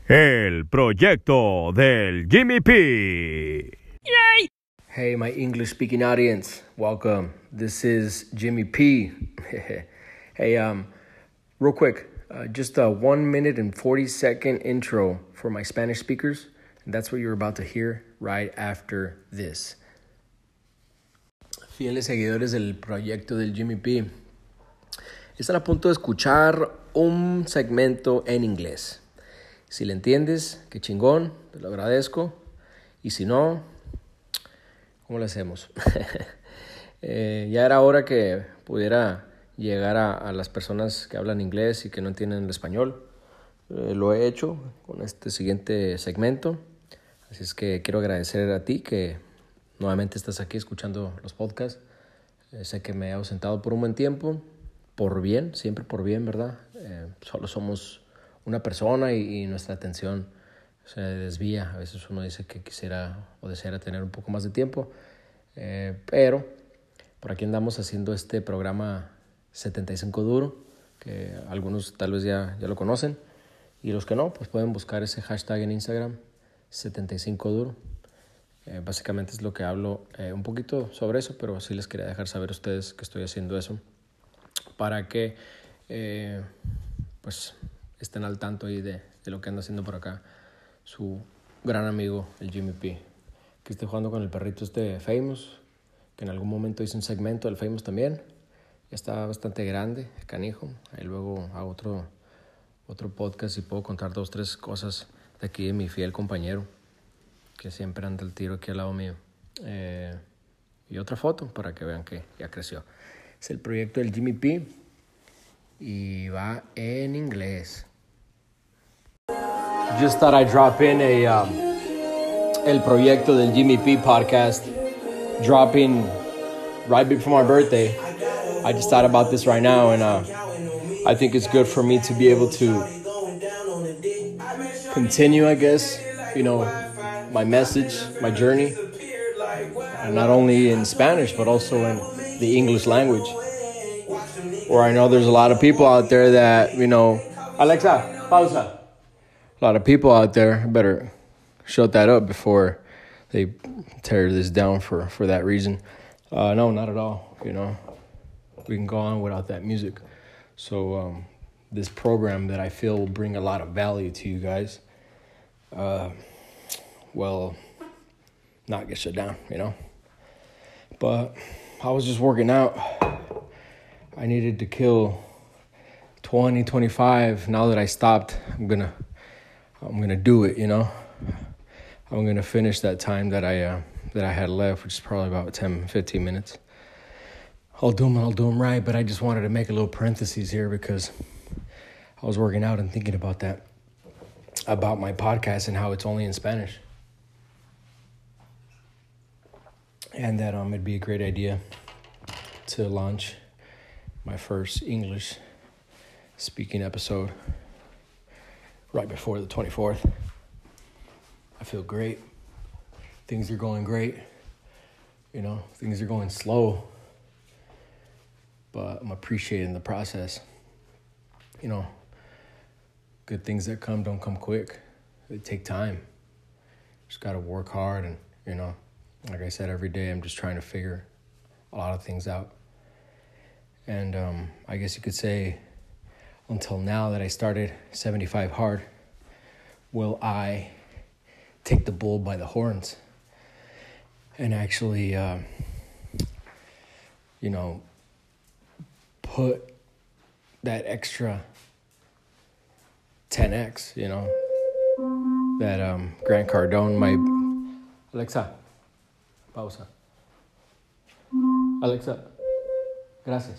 El proyecto del Jimmy P. Yay! Hey, my English-speaking audience, welcome. This is Jimmy P. Hey, real quick, just a 1 minute and 40-second intro for my Spanish speakers. And that's what you're about to hear right after this. Fieles seguidores del proyecto del Jimmy P. Están a punto de escuchar un segmento en inglés. Si le entiendes, qué chingón, te lo agradezco. Y si no, ¿cómo le hacemos? Ya era hora que pudiera llegar a las personas que hablan inglés y que no entienden el español. Lo he hecho con este siguiente segmento. Así es que quiero agradecer a ti que nuevamente estás aquí escuchando los podcasts. Sé que me he ausentado por un buen tiempo, por bien, siempre por bien, ¿verdad? Solo somos una persona y nuestra atención se desvía. A veces uno dice que quisiera o deseara tener un poco más de tiempo, pero por aquí andamos haciendo este programa 75 Duro, que algunos tal vez ya lo conocen, y los que no, pues pueden buscar ese hashtag en Instagram, 75 Duro. Básicamente es lo que hablo un poquito sobre eso, pero sí les quería dejar saber a ustedes que estoy haciendo eso para que pues estén al tanto ahí de lo que anda haciendo por acá su gran amigo, el Jimmy P. Que esté jugando con el perrito Famous, que en algún momento hice un segmento del Famous también. Ya está bastante grande, canijo. Ahí luego hago otro podcast y puedo contar 2, 3 cosas de aquí de mi fiel compañero, que siempre anda al tiro aquí al lado mío. Y otra foto para que vean que ya creció. Es el proyecto del Jimmy P. Y va en inglés. Just thought I'd drop in el proyecto del Jimmy P podcast, dropping right before my birthday. I just thought about this right now, and I think it's good for me to be able to continue, I guess, my message, my journey, and not only in Spanish, but also in the English language. Or I know there's a lot of people out there that, Alexa, pausa. A lot of people out there better shut that up before they tear this down for that reason. No, not at all. We can go on without that music. So this program that I feel will bring a lot of value to you guys, will not get shut down, But I was just working out. I needed to kill 20, 25. Now that I stopped, I'm gonna do it, I'm gonna finish that time that I had left, which is probably about 10, 15 minutes. I'll do them right, but I just wanted to make a little parenthesis here because I was working out and thinking about that, about my podcast and how it's only in Spanish. And that it'd be a great idea to launch my first English speaking episode right before the 24th. I feel great. Things are going great. Things are going slow, but I'm appreciating the process. Good things that come don't come quick. They take time. Just got to work hard and, like I said, every day I'm just trying to figure a lot of things out. And I guess you could say until now that I started 75 Hard, will I take the bull by the horns and actually, put that extra 10x, that Grant Cardone might... Alexa, pausa. Alexa, gracias.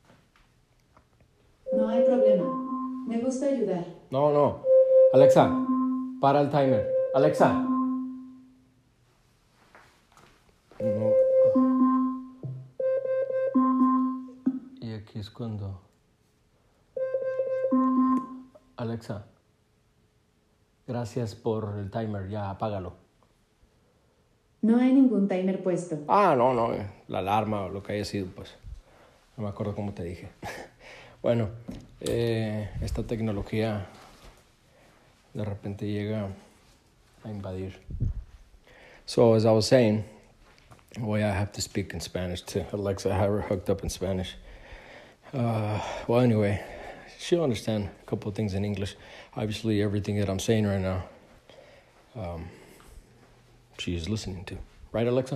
No hay problema. Me gusta ayudar. No. Alexa, para el timer. Alexa. No. Y aquí es cuando... Alexa, gracias por el timer. Ya, apágalo. No hay ningún timer puesto. No. La alarma o lo que haya sido, pues. No me acuerdo cómo te dije. Bueno, esta tecnología de repente llega a invadir. So as I was saying, I have to speak in Spanish to Alexa. I have her hooked up in Spanish. Well, anyway, she'll understand a couple of things in English. Obviously, everything that I'm saying right now, she is listening to. Right, Alexa?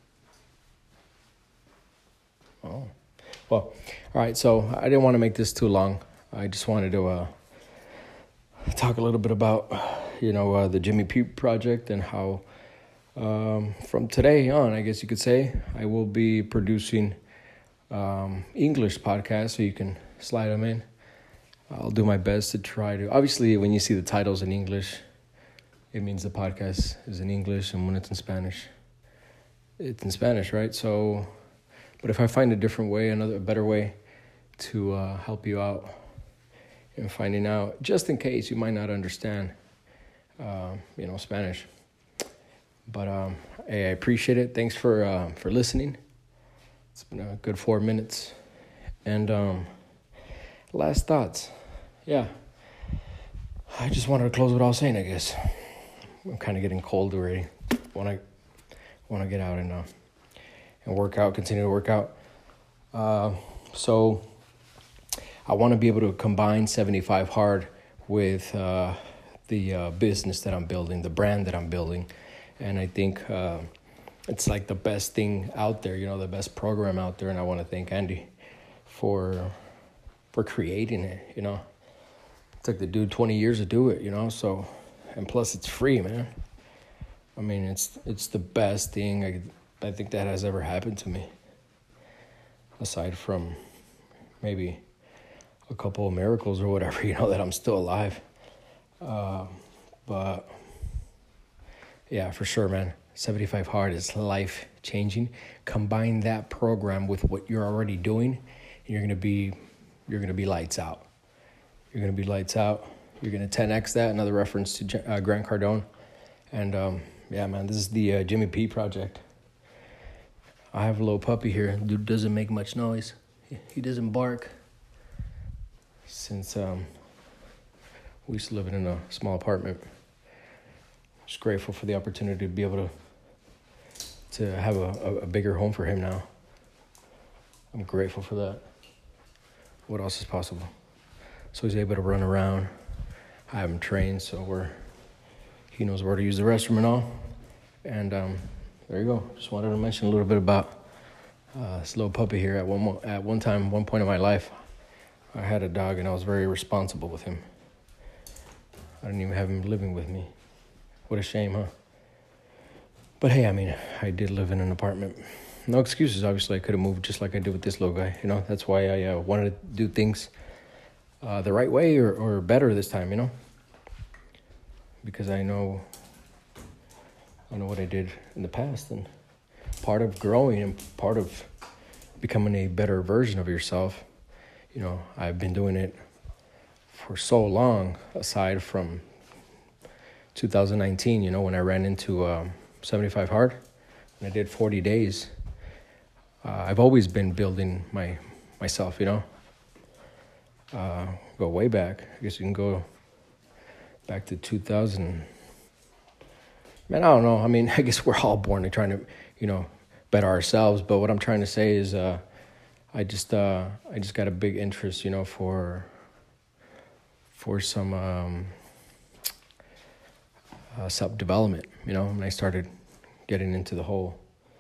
Oh. Well, all right, so I didn't want to make this too long. I just wanted to talk a little bit about, the Jimmy P project and how from today on, I guess you could say, I will be producing English podcasts, so you can slide them in. I'll do my best to try to... Obviously, when you see the titles in English, it means the podcast is in English, and when it's in Spanish, it's in Spanish, right? So... But if I find a different way, a better way to help you out in finding out, just in case you might not understand, Spanish. But hey, I appreciate it. Thanks for listening. It's been a good 4 minutes. And last thoughts. Yeah, I just wanted to close what I was saying, I guess. I'm kind of getting cold already. Want to get out and work out, continue to work out. So I want to be able to combine 75 Hard with the business that I'm building, the brand that I'm building. And I think it's like the best thing out there, the best program out there. And I want to thank Andy for creating it, It took the dude 20 years to do it, so, and plus it's free, man. I mean, it's the best thing I think that has ever happened to me, aside from maybe a couple of miracles or whatever, that I'm still alive. But yeah, for sure, man. 75 Hard is life-changing. Combine that program with what you're already doing, and you're gonna be lights out. You're gonna be lights out. You're gonna 10x that. Another reference to Grant Cardone. And yeah, man, this is the Jimmy P project. I have a little puppy here. Dude doesn't make much noise. He doesn't bark. Since we used to live in a small apartment. Just grateful for the opportunity to be able to have a bigger home for him now. I'm grateful for that. What else is possible? So he's able to run around. I have him trained, so he knows where to use the restroom and all. And there you go. Just wanted to mention a little bit about this little puppy here. At one point in my life, I had a dog, and I was very responsible with him. I didn't even have him living with me. What a shame, huh? But hey, I mean, I did live in an apartment. No excuses, obviously. I could have moved just like I did with this little guy. That's why I wanted to do things the right way or better this time, because I know what I did in the past, and part of growing and part of becoming a better version of yourself, I've been doing it for so long, aside from 2019, when I ran into 75 Hard, and I did 40 days. I've always been building myself, go way back. I guess you can go back to 2000. Man, I don't know. I mean, I guess we're all born to trying to, better ourselves. But what I'm trying to say is, I just got a big interest, for some self-development. When I started getting into the whole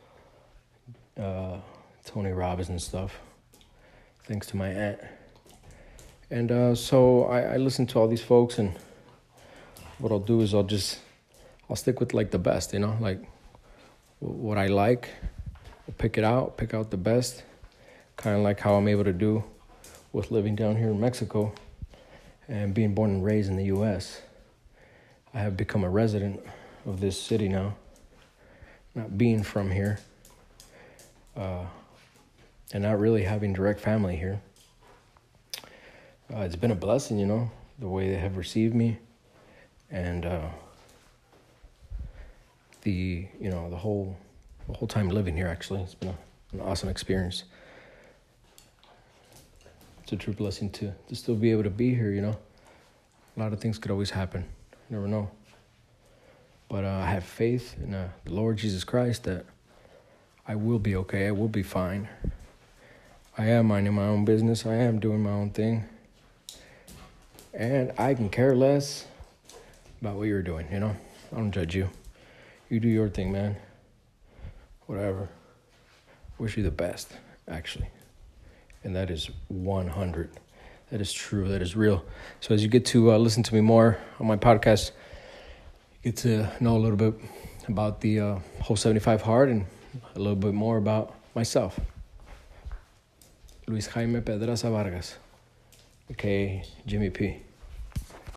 Tony Robbins and stuff, thanks to my aunt. And so I listen to all these folks, and what I'll do is I'll stick with like the best, like what I like. I'll pick out the best, kind of like how I'm able to do with living down here in Mexico and being born and raised in the U.S. I have become a resident of this city now, not being from here, and not really having direct family here. It's been a blessing, the way they have received me, and the whole time living here. Actually, it's been an awesome experience. It's a true blessing to still be able to be here. A lot of things could always happen. Never know. But I have faith in the Lord Jesus Christ that I will be okay. I will be fine. I am minding my own business. I am doing my own thing. And I can care less about what you're doing, you know? I don't judge you. You do your thing, man. Whatever. Wish you the best, actually. And that is 100. That is true. That is real. So as you get to listen to me more on my podcast, you get to know a little bit about the whole 75 Hard and a little bit more about myself. Luis Jaime Pedraza Vargas, a.k.a. Jimmy P.